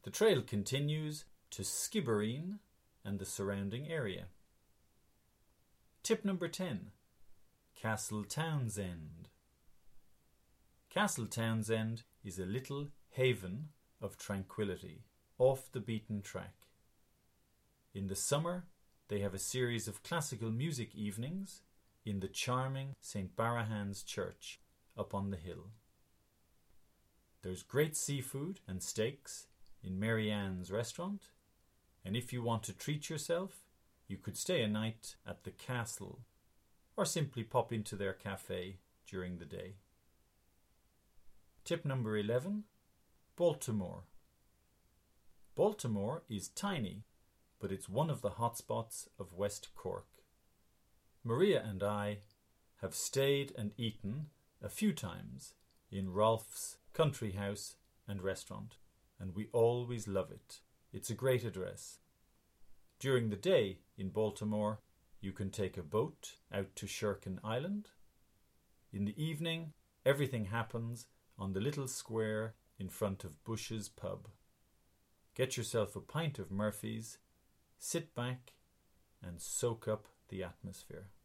The trail continues to Skibbereen and the surrounding area. Tip number 10. Castle Townsend. Castle Townsend is a little haven of tranquility, off the beaten track. In the summer, they have a series of classical music evenings in the charming St. Barahan's Church up on the hill. There's great seafood and steaks in Mary Ann's restaurant, and if you want to treat yourself, you could stay a night at the castle or simply pop into their cafe during the day. Tip number 11. Baltimore. Baltimore is tiny, but it's one of the hotspots of West Cork. Maria and I have stayed and eaten a few times in Rolf's country house and restaurant, and we always love it. It's a great address. During the day in Baltimore, you can take a boat out to Sherkin Island. In the evening, everything happens on the little square in front of Bush's pub. Get yourself a pint of Murphy's, sit back and soak up the atmosphere.